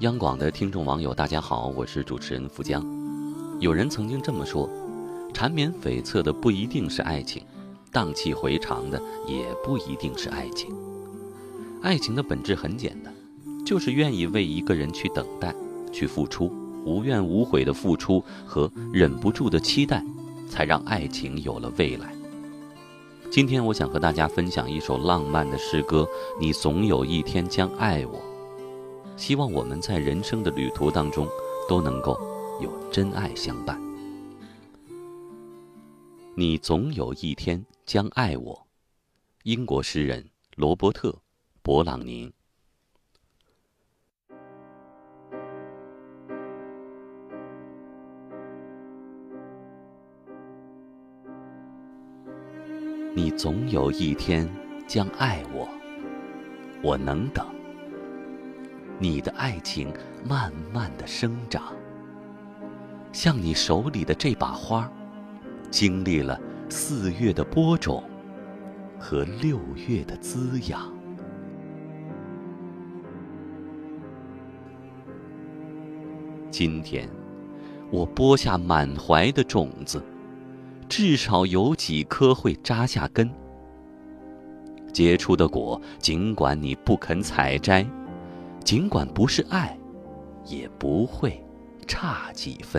央广的听众网友大家好，我是主持人福江。有人曾经这么说，缠绵悱恻的不一定是爱情，荡气回肠的也不一定是爱情。爱情的本质很简单，就是愿意为一个人去等待，去付出，无怨无悔的付出和忍不住的期待，才让爱情有了未来。今天我想和大家分享一首浪漫的诗歌，你总有一天将爱我。希望我们在人生的旅途当中都能够有真爱相伴。你总有一天将爱我。英国诗人罗伯特·勃朗宁。你总有一天将爱我，我能等。你的爱情慢慢地生长，像你手里的这把花，经历了4月的播种和6月的滋养。今天，我播下满怀的种子，至少有几颗会扎下根。结出的果，尽管你不肯采摘，尽管不是爱，也不会差几分。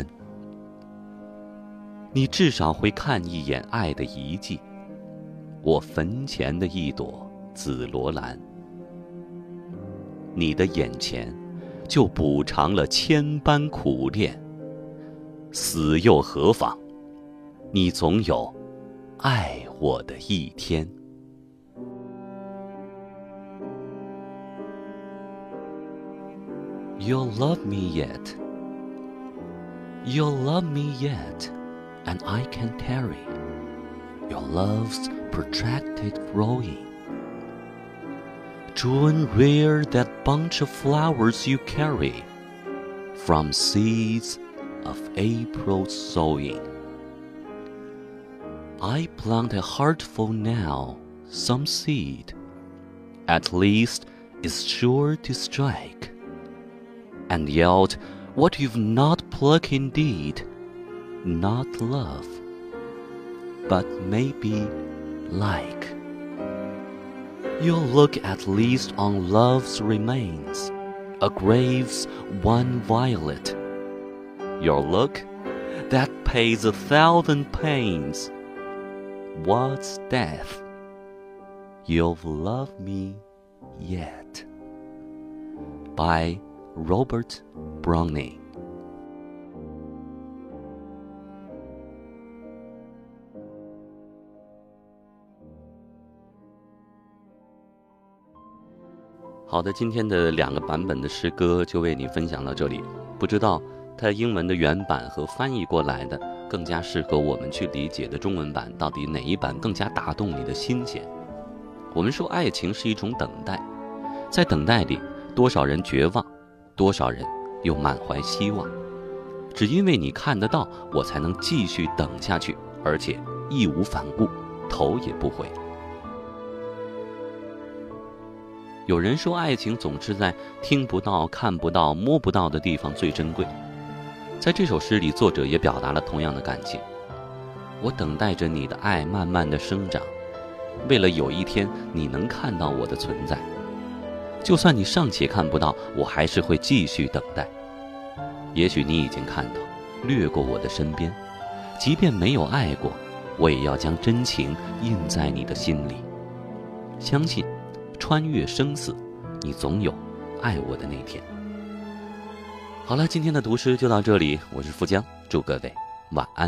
你至少会看一眼爱的遗迹，我坟前的一朵紫罗兰。你的眼前就补偿了千般苦恋，死又何妨？你总有爱我的一天。You'll love me yet. You'll love me yet, and I can tarry. Your love's protracted growing. June rear that bunch of flowers you carry from seeds of April's sowing. I plant a heartful now, some seed, at least is sure to strike.And yelled, what you've not plucked indeed, not love, but maybe like. You'll look at least on love's remains, a grave's one violet. Your look, that pays 1,000 pains. What's death? You'll love me yet. By Robert Browning。 好的，今天的2个版本的诗歌就为你分享到这里。不知道它英文的原版和翻译过来的更加适合我们去理解的中文版，到底哪一版更加打动你的心弦？我们说爱情是一种等待，在等待里，多少人绝望，多少人又满怀希望。只因为你看得到，我才能继续等下去，而且义无反顾，头也不回。有人说，爱情总是在听不到、看不到、摸不到的地方最珍贵。在这首诗里，作者也表达了同样的感情。我等待着你的爱慢慢的生长，为了有一天你能看到我的存在。就算你尚且看不到，我还是会继续等待。也许你已经看到，掠过我的身边，即便没有爱过，我也要将真情印在你的心里。相信，穿越生死，你总有爱我的那天。好了，今天的读诗就到这里，我是富江，祝各位晚安。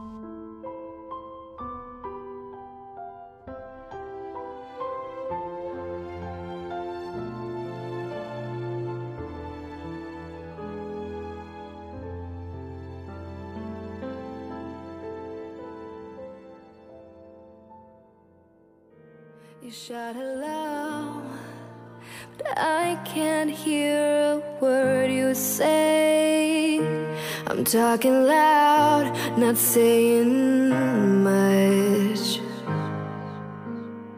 You shout aloud, but I can't hear a word you say. I'm talking loud, not saying much.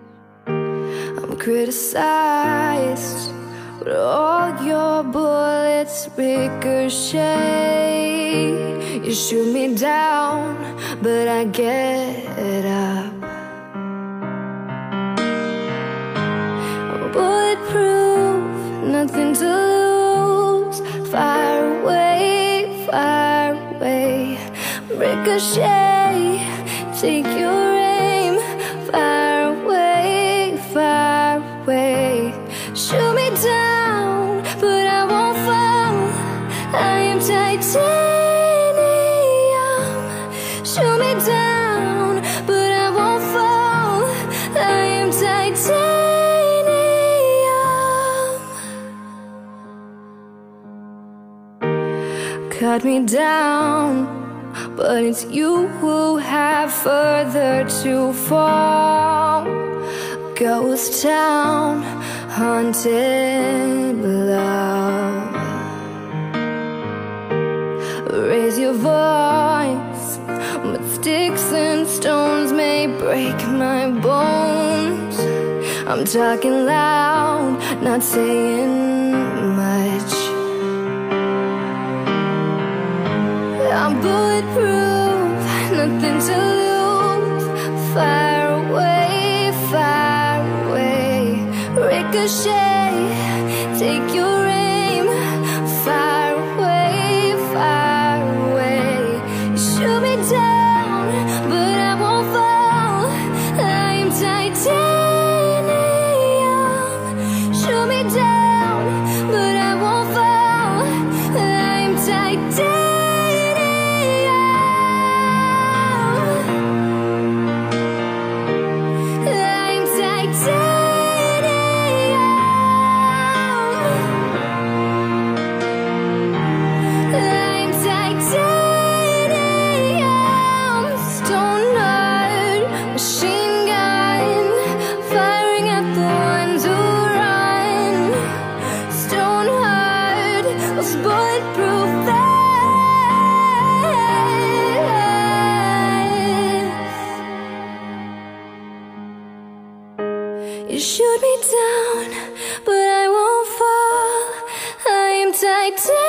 I'm criticized, but all your bullets bullets ricochet. You shoot me down, but I get up. I'm bulletproof, nothing to lose. Fire away, fire away. Ricochet, take your aim. Fire away, fire away. Shoot me down, but I won't fall. I am titanium. Shoot me down, but I won't fall. I am titanium. Cut me down, but it's you who have further to fall. Ghost town, haunted love. Raise your voice, but sticks and stones may break my bones. I'm talking loud, not saying much. I'm bulletproof, nothing to lose. Fire away, fire away. Ricochet, take your aim. Fire away, fire away. You shoot me down, but I won't fall. I am titanium. Shoot me down, but I won't fall. I am titanium. You shoot me down, but I won't fall. I am titanium.